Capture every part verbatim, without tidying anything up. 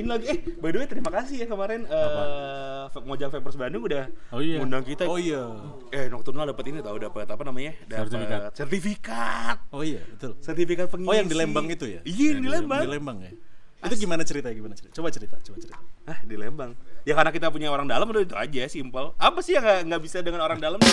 ini lagi. Eh, by the way terima kasih ya kemarin uh, Mojang Vapers Bandung udah oh, iya. ngundang kita. Oh iya. Eh, Nocturnal dapat ini tahu dapat apa namanya? Dapat sertifikat. sertifikat. Oh iya, betul. Sertifikat pengisi. Oh yang di Lembang itu ya? Iya, yang di Lembang. Di Lembang ya. Itu gimana ceritanya? Gimana cerita? Coba cerita, coba cerita. Ah, di Lembang. Ya karena kita punya orang dalam udah itu aja, simple. Apa sih yang nggak nggak bisa dengan orang dalam?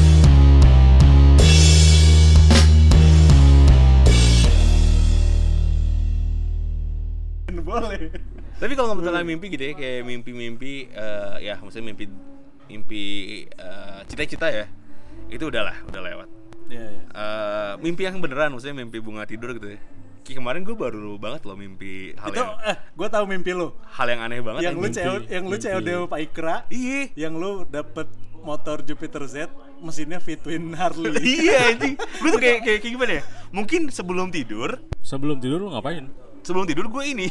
Boleh. Tapi kalau ngomongin mimpi gitu ya, kayak mimpi-mimpi, uh, ya maksudnya mimpi, mimpi uh, cita-cita ya, itu udahlah, udah lewat. Iya. Ya. Uh, mimpi yang beneran, maksudnya mimpi bunga tidur gitu ya. Kayak kemarin gue baru banget loh mimpi hal itu, yang, eh, gue tahu mimpi lo. hal yang aneh banget. Yang lu mimpi, C O D, yang lu C O D Pak Ikra. Iya. Yang lu dapet motor Jupiter Z, mesinnya Fitwin Harley. Iya anjing. Gue tuh kayak, kayak kayak gimana ya? Mungkin sebelum tidur. Sebelum tidur lu ngapain? Sebelum tidur gue ini.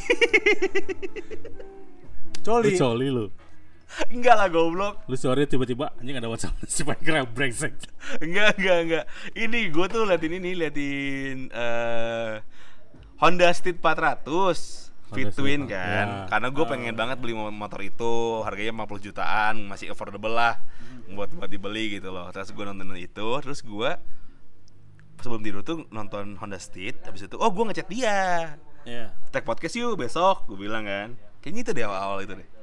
Coli. Lu coli lu. Enggak lah goblok. Lu sore tiba-tiba anjing ada WhatsApp si Pak brengsek. Enggak, enggak, enggak. Ini gue tuh liatin ini, liatin uh, Honda Street empat ratus Fit Twin kan. Ya. Karena gue pengen uh. banget beli motor itu, harganya lima puluh jutaan, masih affordable lah buat buat dibeli gitu loh. Terus gue nonton itu, terus gue sebelum tidur tuh nonton Honda Street, habis itu oh gue ngechat dia. Yeah. Tag podcast yuk besok, gue bilang kan. Kayaknya itu deh awal-awal itu deh.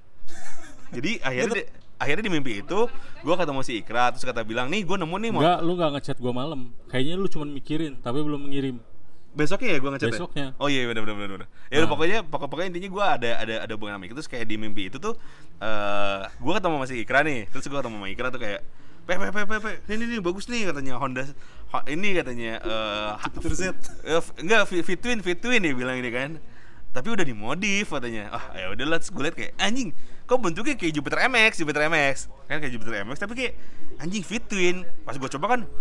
Jadi akhirnya di, akhirnya di mimpi itu gue ketemu si Ikra, terus kata bilang nih gue nemu nih mau. Enggak, lu gak ngechat gue malam. Kayaknya lu cuma mikirin tapi belum mengirim. Besoknya ya gue ngechat. Besoknya. Ya? Oh iya benar benar benar. Ya nah. pokoknya pokok pokoknya intinya gue ada ada ada hubungan sama Ikra, terus kayak di mimpi itu tuh uh, gue ketemu sama si Ikra nih, terus gue ketemu sama Ikra tuh kayak Pe pe pe pe pe ini nih bagus nih katanya Honda ho, ini katanya uh, Jupiter Z. Uh, enggak Fit Twin Fit Twin dia bilang ini kan. Tapi udah dimodif katanya. Ah, ya udah lah, gue liat kayak anjing, kok bentuknya kayak Jupiter M X, Jupiter M X. Kan kayak Jupiter M X tapi kayak anjing Fit Twin. Pas gue coba kan,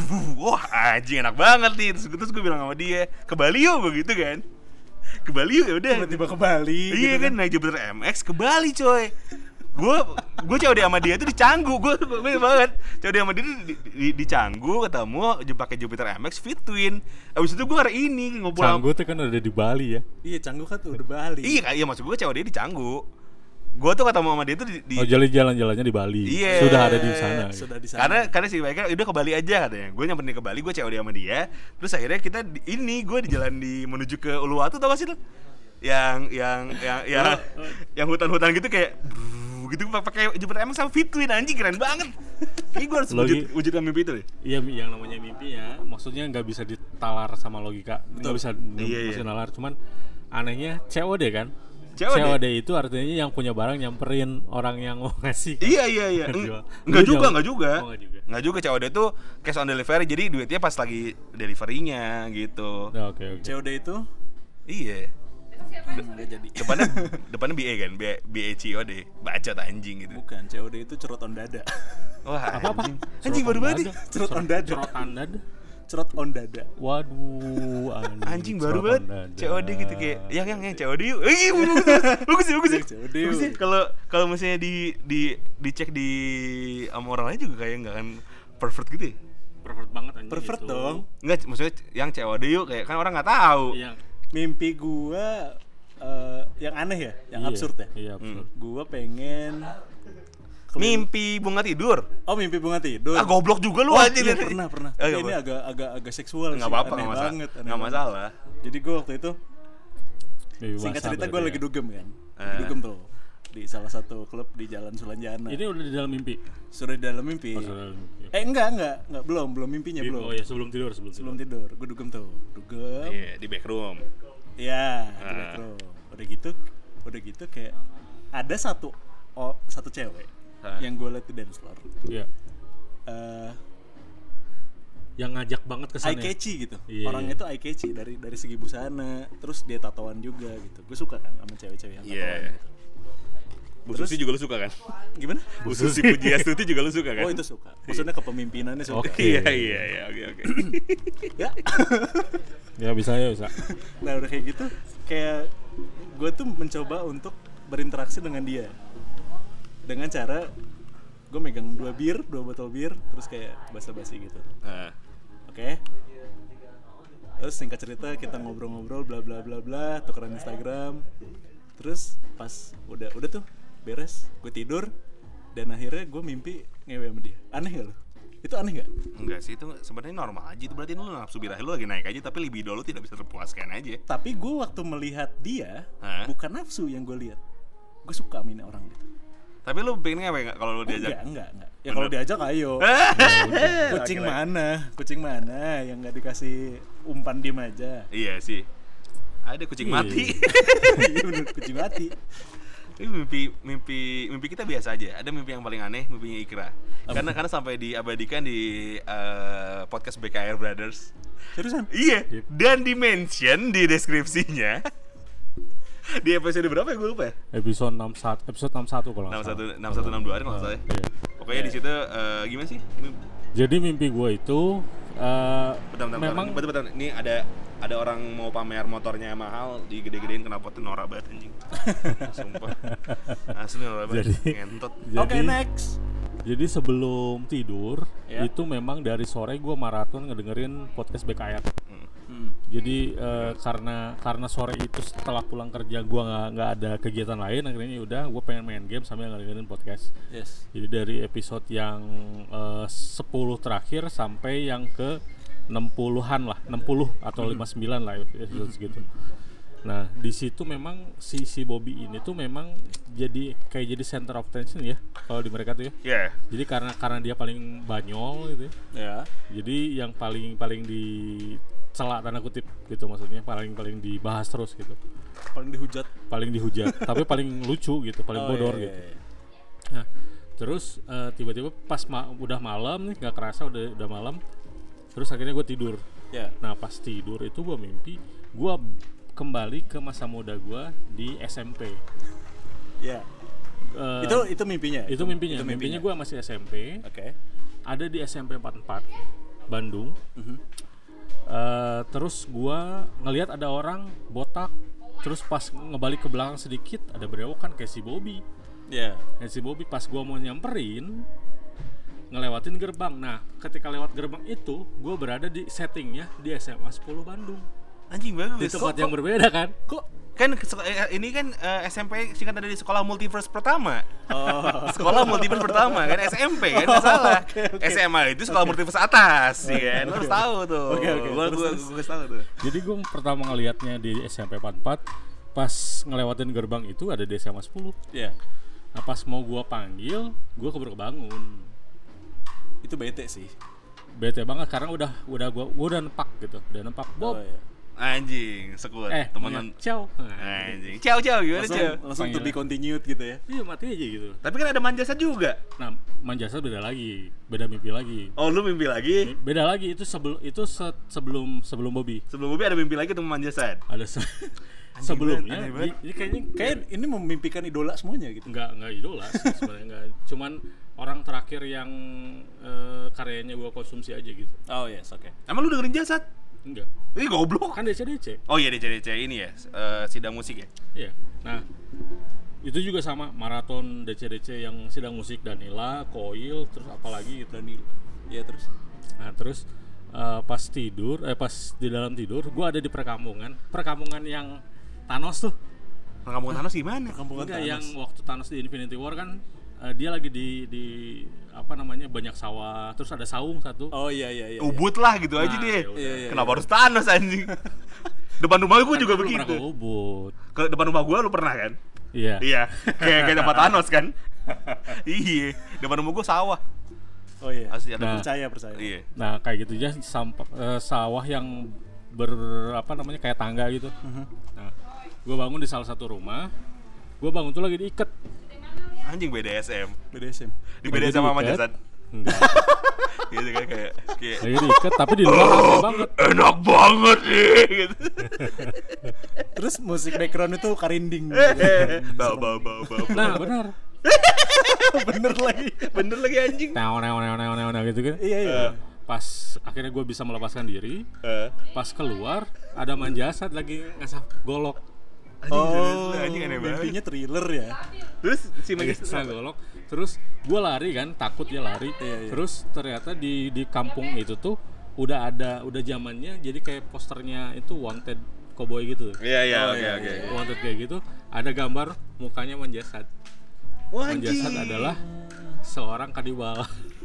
wah anjing enak banget nih. Terus, terus gue bilang sama dia, ke Bali yuk begitu kan. Ke Bali yuk ya udah. Tiba-tiba ke Bali. Iya gitu kan, naik Jupiter M X ke Bali coy. Gue gue C O D sama dia itu di Canggu, gue gue banget C O D sama dia di, di, di Canggu ketemu pakai Jupiter M X Fit Twin. Abis itu gue hari ini ngobrol. Canggu tuh kan udah di Bali ya. Iya Canggu kan tuh udah Bali. Iya iya maksud gue C O D di Canggu. Gue tuh ketemu sama dia tuh di, di oh jadi jalan-jalannya di Bali. Iya. Sudah ada di sana. Sudah di sana. Karena karena si Baiknya udah ke Bali aja katanya. Gue nyamperin ke Bali, gue C O D sama dia. Terus akhirnya kita di, ini gue di jalan di menuju ke Uluwatu tau gak sih lo? Yang yang yang yang, yang hutan-hutan gitu kayak gitu pakai Jupiter M X sama Fit Twin anjing keren banget. Kayaknya gue harus wujud, wujudkan mimpi itu deh. Iya yang namanya mimpi ya, maksudnya nggak bisa ditalar sama logika, nggak bisa iya, bisa iya. nalar. Cuman anehnya C O D kan. C O D. C O D itu artinya yang punya barang nyamperin orang yang mau ngasih. Kan? Iya iya iya. Enggak juga, enggak juga. Oh, enggak juga. Enggak juga C O D itu cash on delivery. Jadi duitnya pas lagi delivery-nya gitu. Oke oke. C O D itu? Iya. Enggak jadi. Depannya depannya B A kan, B A C O D. Bacot anjing gitu. Bukan, C O D itu cerot on dada. Wah, apa apa? Anjing, anjing baru banget. Cerot on dada. Cerot on dada. Cerot on dada. Waduh, anjing, anjing baru banget. C O D gitu kayak yang yang yang C O D yuk. Eh, bagus sih, bagus sih. Bagus sih. Kalau kalau misalnya di di dicek di sama orang lain juga kayak enggak kan pervert gitu ya. Pervert banget anjing. Pervert gitu. dong. Enggak, maksudnya yang C O D yuk kayak kan orang enggak tahu. Iya. Mimpi gua uh, yang aneh ya, yang iya, absurd ya. Iya, absurd. Hmm. Gua pengen mimpi bunga tidur. Oh, mimpi bunga tidur. Ah, goblok juga lu oh, anjing. Iya, pernah, pernah. Eh, ini agak agak agak seksual enggak sih. apa-apa, aneh enggak masalah. banget, Enggak masalah. Jadi gua waktu itu Mimpi singkat cerita basah gua ya. lagi dugem kan. Eh. Dugem tuh di salah satu klub di Jalan Sulanjana. Ini udah di dalam mimpi. Sudah di dalam mimpi. Oh, sudah dalam mimpi. Eh enggak, enggak, enggak belum, belum mimpinya Di, belum. oh ya sebelum tidur, sebelum, Sebelum tidur, gue dugem tuh, dugem. Iya, di back room. Iya, di Ah. back room. Udah gitu, udah gitu kayak ada satu oh, satu cewek Ah. yang gue liat di dance floor. Iya. Uh, Yang ngajak banget ke sana. eye catchy gitu. Iya, Orangnya iya. tuh eye catchy dari dari segi busana, terus dia tatoan juga gitu. Gue suka kan sama cewek-cewek yang tatoan. Iya. Gitu. Bu Susi juga lu suka kan? Gimana? Bu Susi Pujiastuti juga lu suka kan? Oh itu suka. Maksudnya kepemimpinannya suka. Oke. Iya iya iya oke oke. Ya. Ya bisa ya bisa. Nah udah kayak gitu, kayak gue tuh mencoba untuk berinteraksi dengan dia dengan cara gue megang dua bir, dua botol bir, terus kayak basa-basi gitu. Nah. Oke. Okay. Terus singkat cerita kita ngobrol-ngobrol, bla bla bla bla, tukeran Instagram. Terus pas udah udah tuh beres, gue tidur dan akhirnya gue mimpi ngewe sama dia. Aneh gak lo? Itu aneh gak? Enggak sih, itu sebenarnya normal aja. Itu berarti lu nafsu birahi lu lagi naik aja, tapi libido lu tidak bisa terpuaskan aja. Tapi gue waktu melihat dia, Hah? bukan nafsu yang gue lihat. Gue suka sama ini orang gitu. Tapi lu pengen ngewe nggak kalau lu diajak? Enggak, enggak, enggak. Ya kalau diajak ayo. Kucing Akhirnya. mana? Kucing mana yang nggak dikasih umpan diem aja? Iya sih. Ada kucing mati. Iya bener, kucing mati. Ini mimpi mimpi mimpi kita biasa aja. Ada mimpi yang paling aneh, mimpinya Ikra. Karena karena sampai diabadikan di uh, podcast B K R Brothers. Seriusan? Iya. Dan di mention di deskripsinya. Di episode berapa ya gue lupa ya? Episode enam puluh satu, episode enam puluh satu kalau nggak salah. enam puluh satu enam puluh dua ada nggak salah ya? Iya. Pokoknya di situ uh, gimana sih? Mim- Jadi mimpi gue itu uh, Bentar, bentar, memang bentar, bentar, bentar. Ini ada ada orang mau pamer motornya mahal, digede-gedein kenapa tuh norak banget anjing. Sumpah. Asli norak banget. Jadi- Ngentot. jadi, Oke, next. jadi sebelum tidur Ya. itu memang dari sore gue maraton ngedengerin podcast B K R. Hmm. Jadi eh, karena karena sore itu setelah pulang kerja gue nggak nggak ada kegiatan lain, akhirnya udah gue pengen main game sambil ngedengerin podcast. Yes. Jadi dari episode yang eh, sepuluh terakhir sampai yang ke enam puluhan lah, enam puluh atau lima puluh sembilan lah episode segitu. Nah, di situ memang si si Bobby ini tuh memang jadi kayak jadi center of attention ya kalau di mereka tuh ya. Iya. Jadi karena karena dia paling banyol gitu ya. Ya. Jadi yang paling paling di celak tanda kutip gitu, maksudnya paling paling dibahas terus gitu. Paling dihujat. Paling dihujat, tapi paling lucu gitu, paling Oh, bodor iya, gitu. iya, iya. Nah, terus eh, tiba-tiba pas ma- udah malam nih, nggak kerasa udah udah malam. Terus akhirnya gue tidur. Ya. Nah, pas tidur itu gue mimpi gue kembali ke masa muda gue di S M P. Ya. Eh, Itu itu mimpinya. itu mimpinya. Itu Mimpinya gue masih S M P. Oke. Ada di S M P empat puluh empat Bandung. Mhm. Eh, terus gua ngelihat ada orang botak, terus pas ngebalik ke belakang sedikit ada berewokan kayak si Bobby. Ya. Kayak si Bobby pas gua mau nyamperin ngelewatin gerbang. Nah, ketika lewat gerbang itu, gua berada di settingnya di S M A sepuluh Bandung. Anjing Di bagus. tempat Kok- yang berbeda kan? kok kan sek- eh, ini kan eh, S M P singkatan dari sekolah multiverse pertama. Oh. Sekolah multiverse pertama kan S M P kan nggak salah. Oke, oke. S M A itu sekolah multiverse atas, ya kan. Lo harus tahu tuh. Oke, oke. Gua Terus, gua terus. gua harus tahu tuh. Jadi gua pertama ngelihatnya di S M P empat puluh empat, pas ngelewatin gerbang itu ada di S M A sepuluh. Ya. Nah, pas mau gua panggil, gua keburu kebangun. Itu bete sih. Bete banget karena udah udah gua, gua udah nempak gitu, udah nempak Bob. Oh, iya. Anjing, sekuat Eh, temenan. ciao. Anjing. Ciao ciao gimana Langsung, ciao? langsung to Panggilan. be continued gitu ya. Iya, mati aja gitu. Tapi kan ada manjasa juga. Nah, Manjasa beda lagi, beda mimpi lagi. Oh, lu mimpi lagi? Beda lagi itu sebelum itu se- sebelum sebelum Bobby. Sebelum Bobby ada mimpi lagi temen manjasan. Ada se- sebelumnya. aneh banget. Ini ini kayaknya Kayak ini memimpikan idola semuanya gitu. nggak nggak idola sih sebenarnya, nggak. Cuman orang terakhir yang eh, karyanya gua konsumsi aja gitu. Oh yes, oke. Emang lu dengerin jasad? Enggak. Ih goblok. Kan D C D C. Oh iya D C D C ini ya, eh, sidang musik ya. Iya. Nah, itu juga sama maraton D C D C yang sidang musik Danila, Koil, terus apalagi gitu. Danila. Iya terus. Nah, terus eh, pas tidur, eh pas di dalam tidur, gua ada di perkampungan, perkampungan yang Thanos tuh. Kampung Thanos gimana? Perkampungan Enggak, Thanos. yang waktu Thanos di Infinity War kan eh, dia lagi di di apa namanya banyak sawah, terus ada saung satu. Oh iya iya iya. Ubud lah gitu aja Nah, deh. yaudah. Iya, iya, Kenapa harus Thanos anjing? Depan rumah gue juga Kan lu pernah ke begitu. Ubud. Ke depan rumah gue lu pernah kan? Iya. Iya, kayak kayak tempat Thanos kan? Iya, depan rumah gue sawah. Oh iya. Asli ada Nah. Percaya percaya. Iya. Nah, kayak gitu aja sampa, eh, sawah yang ber apa namanya kayak tangga gitu. Nah, gue bangun di salah satu rumah. Gue bangun tuh lagi diikat. Anjing B D S M. B D S M. Di B D S M sama Diikat. jasad. Enggak. Gitu kan kayak kayak Lagi diikat tapi di luar rame banget. enak banget nih gitu. Terus musik background itu karinding. Bau bau bau bau. Nah, benar. Bener lagi. Bener lagi anjing. Neo neo neo neo neo gitu kan. Iya iya. Pas akhirnya gue bisa melepaskan diri, Eh. pas keluar ada manjasat lagi ngasah golok. Anjing, Oh, serius, anjing aneh banget. mimpinya thriller ya. Terus si Lagi Magis ngasah golok. Terus gue lari kan, takut dia lari. Iya, iya. Terus ternyata di di kampung itu tuh udah ada udah zamannya jadi kayak posternya itu wanted koboi gitu. Iya iya Oh, oke iya, oke. iya. Wanted kayak gitu, ada gambar mukanya menjasad. Menjasad adalah seorang kanibal.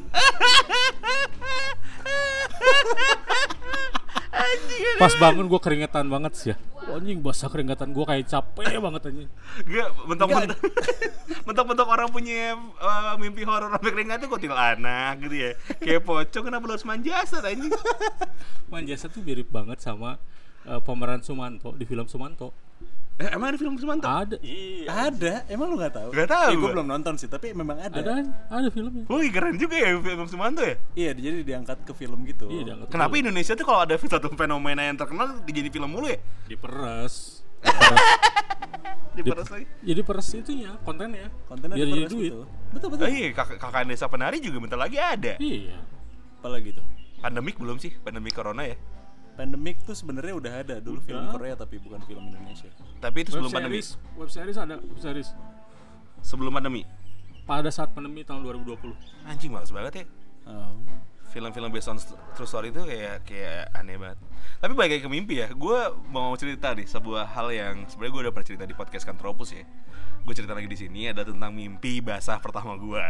Pas bangun gue keringetan banget sih ya. Wah, anjing basah keringetan gue kayak capek banget anjing. Gak, mentok-mentok mentok-mentok orang punya uh, mimpi horor sampai keringat tuh kuntilanak gitu ya. Kayak pocong kenapa lu harus manjasad anjing? Manjasad tuh mirip banget sama uh, pemeran Sumanto di film Sumanto. Eh, emang ada film Sumanto? Ada. Ada, emang lu nggak tahu? Nggak tahu Eh, gue gua. belum nonton sih, tapi memang ada. Ada ada filmnya. Wih keren juga ya film Sumanto ya. Iya, jadi diangkat ke film gitu. Iya, diangkat Kenapa film. Indonesia tuh kalau ada satu fenomena yang terkenal dijadi film mulu ya? Diperes. Diperes lagi. Jadi peres itunya, kontennya. Kontennya biar diperes jadi duit. gitu. Betul betul. Oh iya, kakak kakak desa penari juga bentar lagi ada. Iya. Apalagi tuh? Pandemik belum sih? Pandemi corona ya. Pandemic tuh sebenarnya udah ada dulu Udah. film Korea tapi bukan film Indonesia. Tapi itu Web sebelum pandemi. series, web series ada web series. Sebelum pandemi. Pada saat pandemi tahun dua ribu dua puluh. Anjing males banget ya. Oh. Film-film based on true story itu kayak kayak aneh banget. Tapi balik lagi ke mimpi ya, gue mau cerita nih sebuah hal yang sebenarnya gue udah pernah cerita di podcast Kantropus ya. Gue cerita lagi di sini ada tentang mimpi basah pertama gue.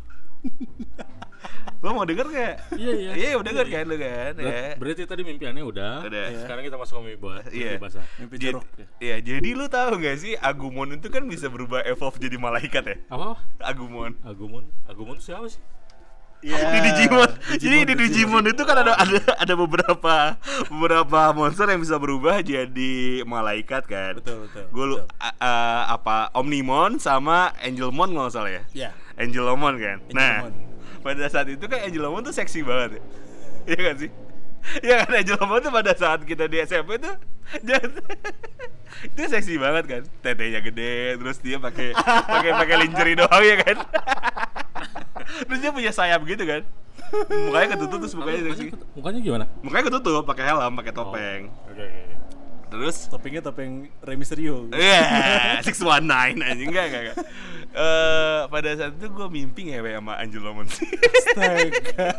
Lo mau denger gak? Iya iya. Iya udah denger kan lo kan Ber- ya. Berarti tadi mimpiannya udah. Udah. Sekarang kita masuk ke mimpi ba- Iya. mimpi basah. Mimpi Jadi- jorok ya. Iya, jadi lu tahu gak sih Agumon itu kan bisa berubah evolve jadi malaikat ya? Apa? Agumon. Agumon. Agumon itu siapa sih? Iya. Di Digimon. Jadi di Digimon itu kan ada ada ada beberapa beberapa monster yang bisa berubah jadi malaikat kan. Betul betul. Gue lu betul. a- a- apa Omnimon sama Angelmon nggak salah ya? Ya. Angelomon kan. Nah, Angelmon. pada saat itu kan Angelomon tuh seksi banget ya. Iya kan sih? Iya kan Angelomon tuh pada saat kita di S M P tuh itu seksi banget kan. Tetenya gede, terus dia pakai pakai pakai lingerie doang ya kan. Terus dia punya sayap gitu kan. Mukanya ketutup terus mukanya seksi. Mukanya, mukanya gimana? Mukanya ketutup pakai helm, pakai topeng. Oke oke. oke. Terus Topengnya topeng Rey Mysterio. iya, six one nine anjing enggak enggak enggak. Eh pada saat itu gue mimpi ngewe sama Angelomon sih. Astaga.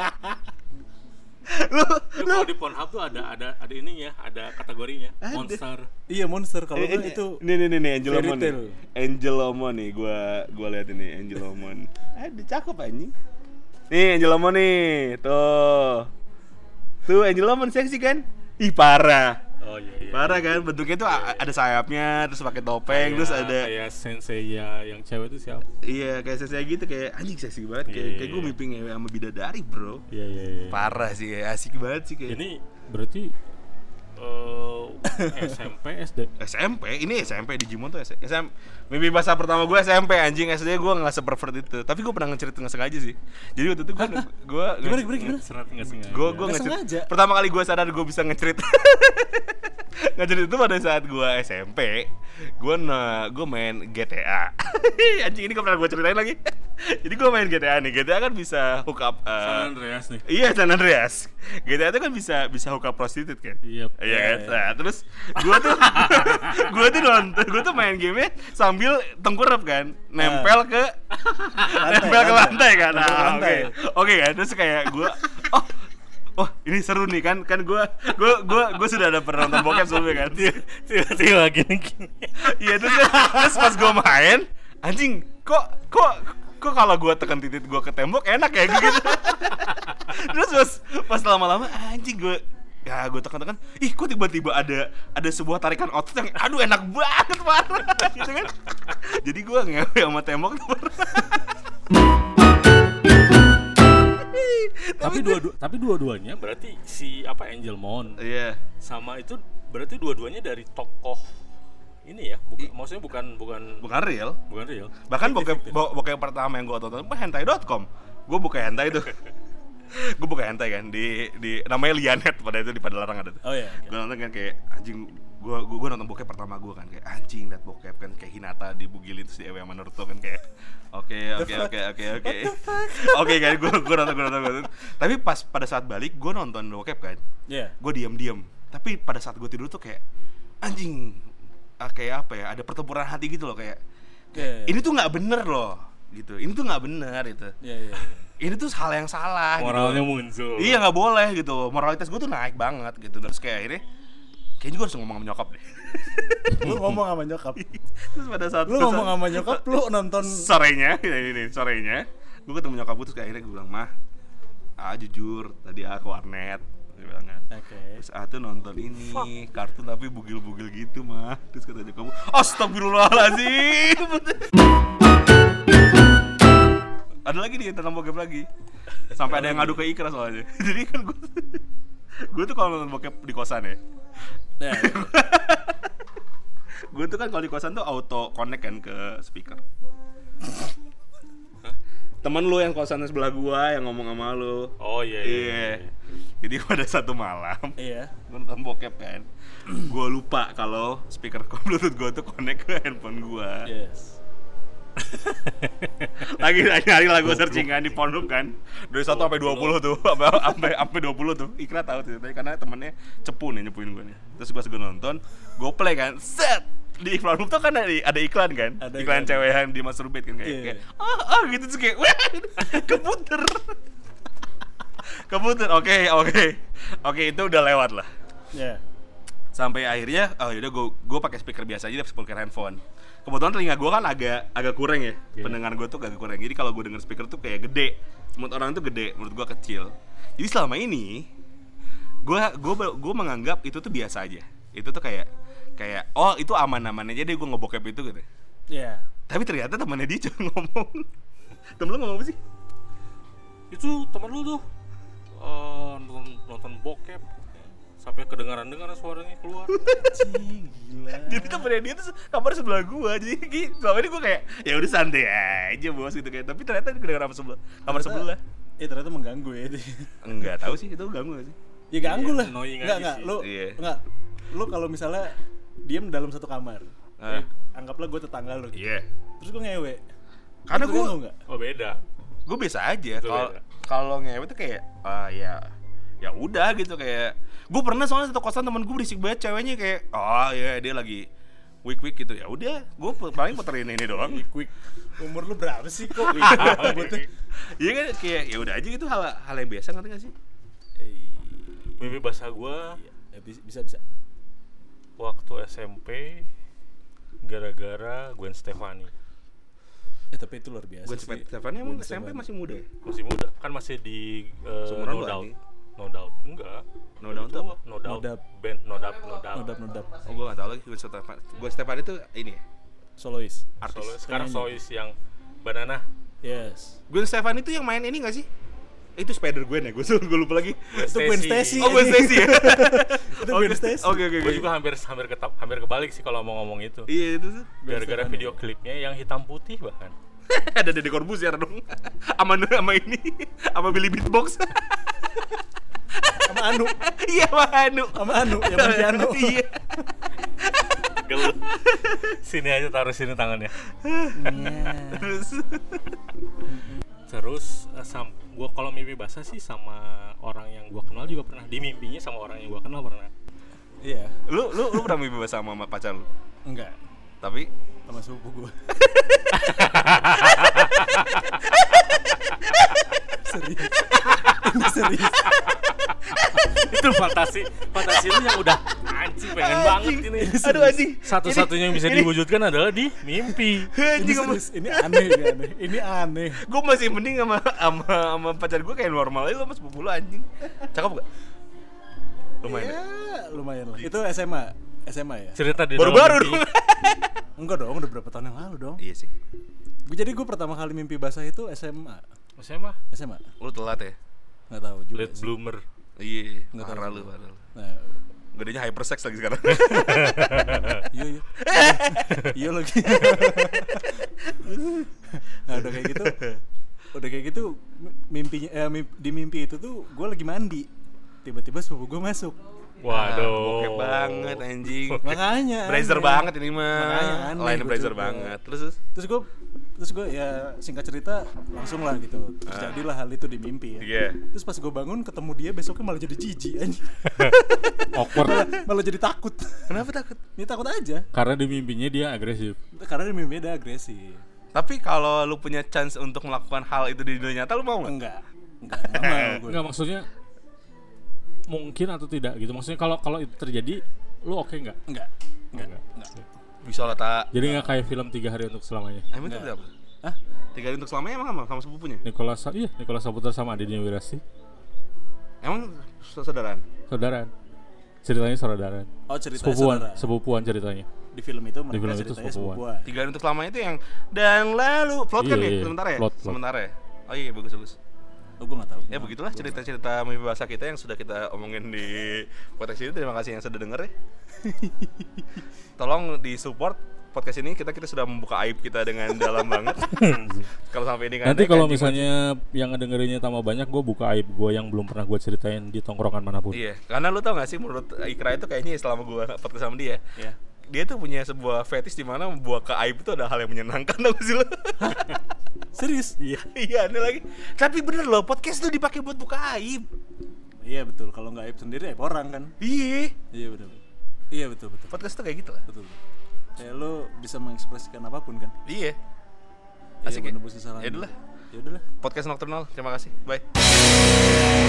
lu Itu kalau di Pornhub tuh ada ada ada ininya, ada kategorinya. Ada. Monster. Iya monster kalau Eh, gua eh, itu. nih nih nih nih Angelomon Fairy nih. Tail. Angelomon nih gua gua lihat ini Angelomon. Ada cakep anjing. Nih Angelomon nih. Tuh. Tuh Angelomon seksi kan? Ih parah. Oh iya iya. Parah kan bentuknya tuh a- ada sayapnya terus pakai topeng terus ada kayak sensei ya yang cewek itu siapa? iya kayak seksi gitu kayak anjing seksi banget kayak Iya, kayak gue iya. mimpi ngewe sama bidadari bro. Iya iya iya. Parah sih asik banget sih kayak. Ini berarti eh S M P S D. S M P, ini S M P Digimon tuh S M P. Mimpi basah pertama gue S M P anjing, S D gue nggak sepervert itu. Tapi gue pernah ngecerit nggak sengaja sih. Jadi waktu itu gue gue Gimana gimana gimana? Serat nggak sengaja. gue gue Nggak ngecerit. sengaja. Pertama kali gue sadar gue bisa ngecerit. Ngecerit itu pada saat gue S M P. Gue na gue main G T A. Anjing ini gak pernah gue ceritain lagi. Jadi gue main G T A nih. G T A kan bisa hook up. uh, San Andreas nih. Iya San Andreas. G T A itu kan bisa bisa hook up prostitute kan. Iya. Iya kan? Nah, terus gua tuh gua tuh nonton, gua tuh main game sambil tengkurap kan, nempel ke nempel ke lantai kan. Nempel ke Nah, lantai. Oke. Oke kan, terus kayak gua oh Oh, ini seru nih kan kan gua gua gua gua sudah ada pernah nonton bokep sebelumnya kan. Tiba-tiba gini-gini. Iya terus terus pas gua main, anjing, kok kok kok kalau gua tekan titik gua ke tembok enak ya gitu. Terus pas pas lama-lama anjing gua ya gue tekan-tekan, ih kok tiba-tiba ada ada sebuah tarikan otot yang aduh enak banget parah gitu kan. Jadi gue ngewe sama tembok tuh Tapi dua tapi dua-duanya berarti si apa Angelmon iya sama itu berarti dua-duanya dari tokoh ini ya, bukan, maksudnya bukan bukan bukan real. bukan real. Bahkan bokep bo- bokep pertama yang gue tonton itu hentai dot com. Gue buka hentai tuh. Gue buka hentai kan di di namanya Lianet pada itu di Padalarang ada tuh. Oh iya. Gue nonton kan kayak anjing, gue gue gue nonton bokep pertama gue kan kayak anjing liat bokep kan kayak Hinata dibugilin terus di Ewe sama Naruto kan kayak oke oke oke oke oke oke kan gue gue nonton gue nonton gue nonton. Tapi pas pada saat balik gue nonton bokep kan, Iya. gue diam-diam. Tapi pada saat gue tidur tuh kayak anjing, ah, kayak apa ya? Ada pertempuran hati gitu loh kayak, kayak Oke. ini tuh nggak bener loh gitu. Ini tuh nggak bener itu. Iya iya. iya. Ini tuh hal yang salah. Moralnya gitu. muncul. Iya nggak boleh gitu. Moralitas gue tuh naik banget gitu. Terus kayak akhirnya kayaknya gue harus ngomong sama nyokap deh. Lu ngomong sama nyokap. Terus pada saat Lu ngomong sama nyokap, lu nonton sorenya, ini nih sorenya, gue ketemu nyokap gue terus kayak akhirnya gue bilang, mah, ah jujur tadi ah ke warnet, dia bilang kan. Oke. Okay. Terus ah tuh nonton ini Fuck. kartun tapi bugil-bugil gitu mah. Terus kata nyokap gue, astagfirullahaladzim. Ada lagi nih tentang bokep lagi. Sampai ada yang ngadu ke Ikra soalnya. Jadi kan gue, gue tuh kalau nonton bokep di kosan ya. Ya, ya. Gue tuh kan kalau di kosan tuh auto connect kan ke speaker. Temen lu yang kosan sebelah gua yang ngomong sama lu. Oh iya iya, iya. iya. Jadi pada satu malam, iya. Gua nonton bokep kan. Gua lupa kalau speaker Bluetooth gua tuh connect ke handphone gua. Yes. Lagi nyari lagu searching kan di Pornhub kan. Dari satu sampai dua puluh tuh, sampai sampai dua puluh tuh. Ikra tahu tuh karena temennya cepu nih nyepuin gua nih. Terus pas gua nonton, gua play kan. Set. Di Pornhub tuh kan ada, ada iklan kan, ada iklan iklan. Cewek yang di masturbate kan kayak, yeah. kayak ah ah gitu terus kayak wah keputer keputer oke okay, oke okay. oke okay, itu udah lewat lah. Yeah. Sampai akhirnya oh yaudah gue gue pakai speaker biasa aja, speaker handphone. Kebetulan telinga gue kan agak agak kurang ya, yeah. pendengar gue tuh agak kurang. Jadi kalau gue denger speaker tuh kayak gede, menurut orang tuh gede, menurut gue kecil. Jadi selama ini gue gue gue menganggap itu tuh biasa aja. Itu tuh kayak kayak oh itu aman-aman aja deh gue ngebokep itu gitu. Iya. Yeah. Tapi ternyata temannya dia cuma ngomong. Temen lu ngomong apa sih? Itu temen lu tuh uh, nonton, nonton bokep sampai kedengaran-dengaran suaranya keluar. Cing, gila. Jadi temennya dia tuh kamar sebelah gua. Jadi selama ini gua kayak ya udah santai aja bos gitu kayak. Tapi ternyata kedengaran sebelah kamar sebelah. Eh ternyata mengganggu ya dia. Enggak tahu sih itu ganggu gak sih? Ya ganggu iya, lah. Enggak enggak sih. lu iya. enggak. Lu kalau misalnya diam dalam satu kamar. Ah. Eh, anggaplah gue tetangga lu. Iya. Yeah. Terus gue ngewe. Karena Terus gua enggak? Oh beda. Gue biasa aja kalau kalau ngewe tuh kayak ah ya ya udah gitu kayak gue pernah soalnya satu kosan temen gue berisik banget ceweknya kayak oh ya dia lagi week week gitu ya udah gue paling puterin ini doang. Week week. Umur lu berapa sih kok? Iya kan kayak ya udah aja gitu hal hal yang biasa ngerti gak sih? Mimpi basah gua ya, bisa bisa. Waktu S M P gara-gara Gwen Stefani. Ya tapi itu luar biasa. Gwen Stefani emang S M P masih muda ya? Masih muda, kan masih di uh, No Doubt. No Doubt, enggak. No Doubt itu apa? No Doubt, band No Doubt, No Doubt. No Doubt, No Doubt. Oh gue gak tau lagi Gwen Stefani. Gwen Stefani itu ini ya? Solois. Artis. Solois. Sekarang Solois yang Banana. Yes. Gwen Stefani itu yang main ini gak sih? Itu Spider Gwen ya, gue gue lupa lagi. Itu Gwen Stacy. Oh Gwen Stacy ya. Itu Gwen Stacy. Oke oke oke. Gue juga hampir hampir ketap, hampir kebalik sih kalau mau ngomong itu. Iya itu tuh. Gara-gara video klipnya yang hitam putih bahkan. Ada Deddy Corbuzier dong. Sama sama ini, sama Billy Beatbox. Sama Anu. Iya sama Anu. Sama Anu yang main piano. Iya. Gel. Sini aja taruh sini tangannya. Terus Terus uh, sam, gua kalau mimpi basah sih sama orang yang gua kenal juga pernah. Di mimpinya sama orang yang gua kenal pernah. Iya. lu lu lu pernah mimpi basah sama pacar lu? Enggak. Tapi Sama sepupu gua. Serius. Ini serius. Itu fantasi, fantasi lu yang udah anjing pengen anjing. banget ini. Aduh anjing. Satu-satunya yang bisa ini, diwujudkan adalah di mimpi. Ini Anjing serius. Ini aneh, ini aneh. Ini aneh. gue masih mending sama sama sama pacar gue kayak normal aja, lo sama sepupu lo anjing. Cakep gak? Lumayan. Ya, Ya? lumayan lah. Itu S M A. S M A ya? Cerita di Baru-baru dalam mimpi. dong. Enggak dong, udah berapa tahun yang lalu dong. Iya sih. Gue jadi gue pertama kali mimpi basah itu S M A. S M A. S M A. Lu telat ya? Enggak tahu juga. Late sih. bloomer. Iya. Nggak tahu. Parah lu, parah lu. Nah, Gedenya hypersex lagi sekarang. iya iya. Iya lagi. Nah, udah kayak gitu. Udah kayak gitu mimpinya eh, mimpi, di mimpi itu tuh gue lagi mandi. Tiba-tiba sepupu gue masuk. Waduh. Bokep banget anjing. Makanya. Brazer aneh. banget ini mah. Makanya aneh Lain gua brazer juga. banget. Terus terus. Terus gue terus gue ya singkat cerita langsung lah gitu. Terjadilah hal itu di mimpi ya. Iya. Terus pas gue bangun ketemu dia besoknya malah jadi jijik anjing. Awkward. malah, malah jadi takut. Kenapa takut? Dia takut aja. Karena di mimpinya dia agresif. Karena di mimpi dia agresif. Tapi kalau lu punya chance untuk melakukan hal itu di dunia nyata, lu mau nggak? Enggak. Enggak, enggak mau gue. Enggak, maksudnya mungkin atau tidak gitu. Maksudnya kalau kalau itu terjadi lu oke nggak? Enggak. Enggak. Enggak. Enggak. Bisa lah tak. Jadi nggak kayak film Tiga Hari Untuk Selamanya. Emang itu Enggak. apa? Hah? Tiga hari untuk selamanya emang apa? Sama sepupunya? Nicholas Sa- iya Nicholas Saputra sama Aditya Wirasti. Emang saudaraan? Saudaraan. Ceritanya saudaraan. Oh, cerita Sepupuan, saudara. sepupuan ceritanya. Di film itu mereka film itu ceritanya sepupuan. sepupuan. Tiga hari untuk selamanya itu yang dan lalu plot kan Iya, ya? iya. Sementara ya? Plot, plot. Sementara ya? Oh iya bagus bagus. Oh, gue nggak tahu. Ya begitulah cerita-cerita mimpi bahasa kita yang sudah kita omongin di podcast ini. Terima kasih yang sudah denger ya. Tolong di support podcast ini, kita kita sudah membuka aib kita dengan dalam banget. Kalau sampai ini nggak Nanti naik, kalau anjing misalnya yang ngedengerinnya tambah banyak, gue buka aib gue yang belum pernah gue ceritain di tongkrongan manapun. Iya, karena lu tau gak sih menurut Ikra itu kayaknya selama gua podcast sama dia, Ya. dia tuh punya sebuah fetish di mana membuat ke aib itu ada hal yang menyenangkan, tau gak sih lu? Serius? Iya, iya aneh lagi. Tapi bener loh, podcast tuh dipakai buat buka aib. Iya betul. Kalau nggak aib sendiri aib orang kan. Iya, Iya betul. Iya betul betul. podcast tuh kayak gitu lah. Betul. Kayak lo bisa mengekspresikan apapun kan. Iya. Iya, Asik ya? menebus kesalahan. Ya udahlah. Ya udahlah. Podcast Nocturnal, terima kasih. Bye.